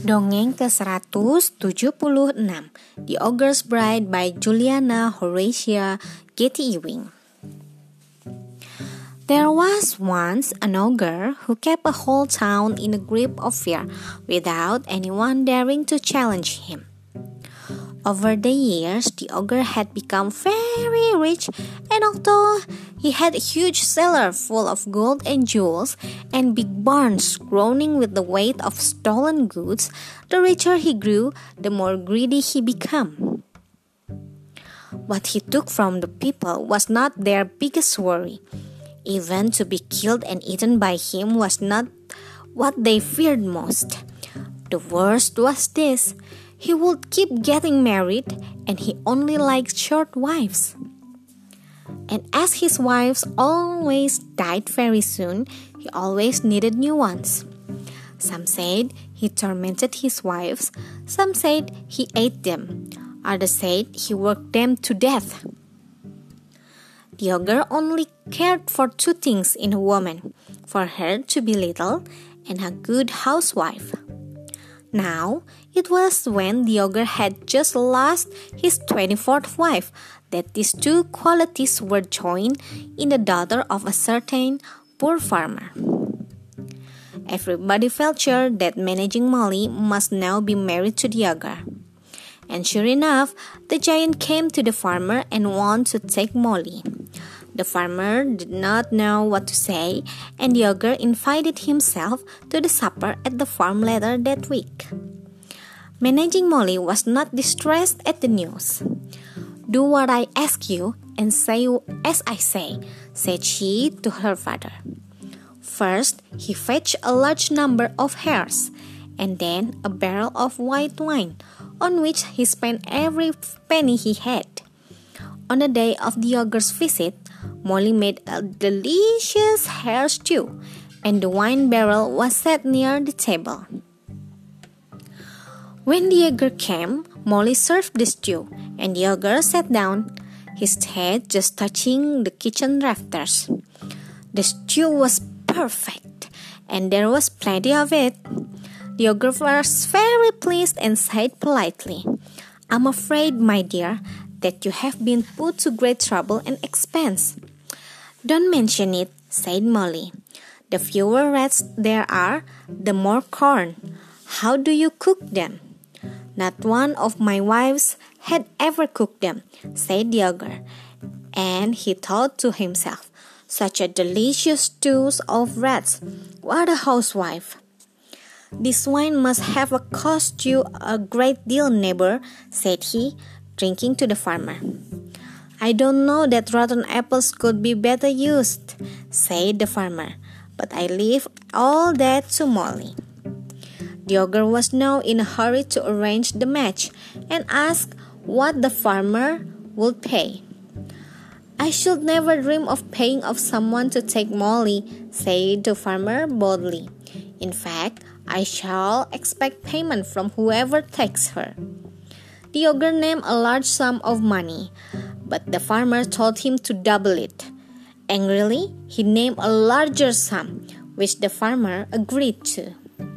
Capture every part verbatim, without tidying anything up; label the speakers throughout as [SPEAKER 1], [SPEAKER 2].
[SPEAKER 1] Dongeng ke seratus tujuh puluh enam The Ogre's Bride by Juliana Horatia Getty Ewing. There was once an ogre who kept a whole town in a grip of fear without anyone daring to challenge him. Over the years, the ogre had become very rich, and although he had a huge cellar full of gold and jewels, and big barns groaning with the weight of stolen goods, the richer he grew, the more greedy he became. What he took from the people was not their biggest worry. Even to be killed and eaten by him was not what they feared most. The worst was this: he would keep getting married, and he only liked short wives. And as his wives always died very soon, he always needed new ones. Some said he tormented his wives, some said he ate them, others said he worked them to death. The ogre only cared for two things in a woman: for her to be little and a good housewife. Now, it was when the ogre had just lost his twenty-fourth wife that these two qualities were joined in the daughter of a certain poor farmer. Everybody felt sure that Managing Molly must now be married to the ogre. And sure enough, the giant came to the farmer and wanted to take Molly. The farmer did not know what to say, and the ogre invited himself to the supper at the farm later that week. Managing Molly was not distressed at the news. "Do what I ask you and say as I say," said she to her father. First, he fetched a large number of hares, and then a barrel of white wine, on which he spent every penny he had. On the day of the ogre's visit, Molly made a delicious hare stew, and the wine barrel was set near the table. When the ogre came, Molly served the stew, and the ogre sat down, his head just touching the kitchen rafters. The stew was perfect, and there was plenty of it. The ogre was very pleased and said politely, "I'm afraid, my dear, that you have been put to great trouble and expense." "Don't mention it," said Molly. "The fewer rats there are, the more corn. How do you cook them?" "Not one of my wives had ever cooked them," said the ogre, and he thought to himself, "Such a delicious stew of rats! What a housewife!" "This wine must have cost you a great deal, neighbor," said he, drinking to the farmer. "I don't know that rotten apples could be better used," said the farmer, "but I leave all that to Molly." The ogre was now in a hurry to arrange the match, and asked what the farmer would pay. "I should never dream of paying off someone to take Molly," said the farmer boldly. "In fact, I shall expect payment from whoever takes her." The ogre named a large sum of money, but the farmer told him to double it. Angrily, he named a larger sum, which the farmer agreed to.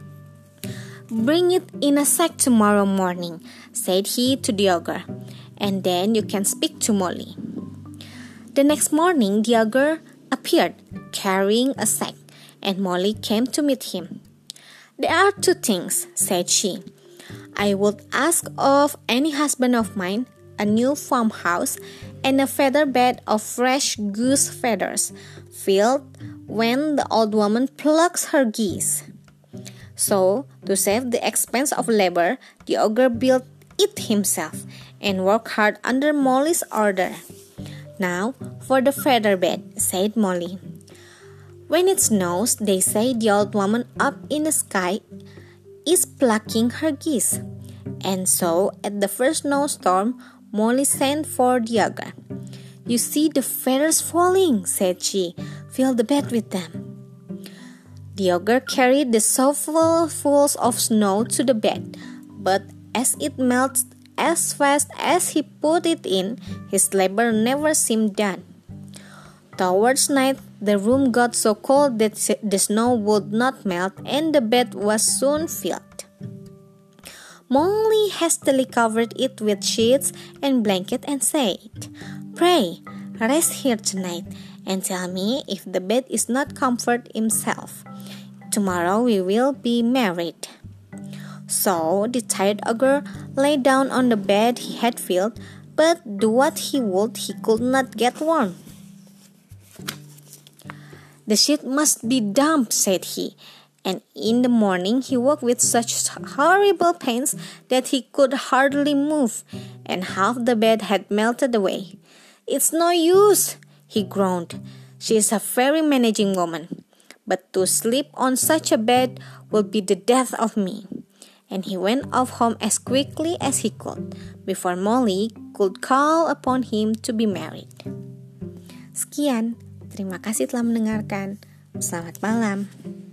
[SPEAKER 1] "Bring it in a sack tomorrow morning," said he to the ogre, "and then you can speak to Molly." The next morning the ogre appeared, carrying a sack, and Molly came to meet him. "There are two things," said she. "I would ask of any husband of mine a new farmhouse and a feather bed of fresh goose feathers, filled when the old woman plucks her geese." So, to save the expense of labor, the ogre built it himself and worked hard under Molly's order. "Now, for the feather bed," said Molly. "When it snows, they say the old woman up in the sky is plucking her geese." And so, at the first snowstorm, Molly sent for the ogre. "You see the feathers falling," said she. "Fill the bed with them." The ogre carried the shovelfuls of snow to the bed, but as it melted as fast as he put it in, his labor never seemed done. Towards night, the room got so cold that the snow would not melt, and the bed was soon filled. Molly hastily covered it with sheets and blanket and said, "Pray, rest here tonight and tell me if the bed is not comfort himself. Tomorrow we will be married." So the tired ogre lay down on the bed he had filled, but do what he would, he could not get warm. "The sheet must be damp," said he, and in the morning he woke with such horrible pains that he could hardly move, and half the bed had melted away. "It's no use," he groaned. "She is a very managing woman, but to sleep on such a bed will be the death of me." And he went off home as quickly as he could, before Molly could call upon him to be married. Sekian, terima kasih telah mendengarkan. Selamat malam.